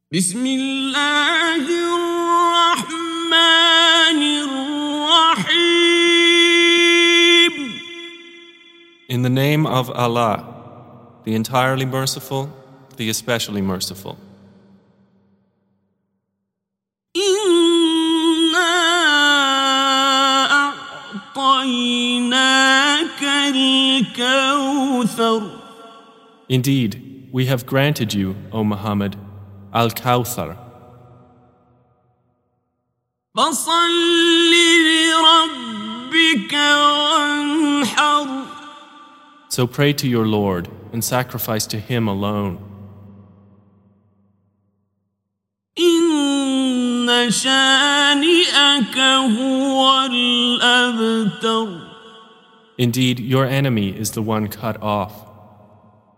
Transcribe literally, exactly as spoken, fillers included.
بسم الله الرحمن الرحيم. In the name of Allah, the entirely merciful, the especially merciful. إنا أعطيناك الكوثر. Indeed, we have granted you, O Muhammad, Al-Kawthar. فصل لربك وانحر. So pray to your Lord and sacrifice to Him alone. إن شانئك هو الأبتر. Indeed, your enemy is the one cut off.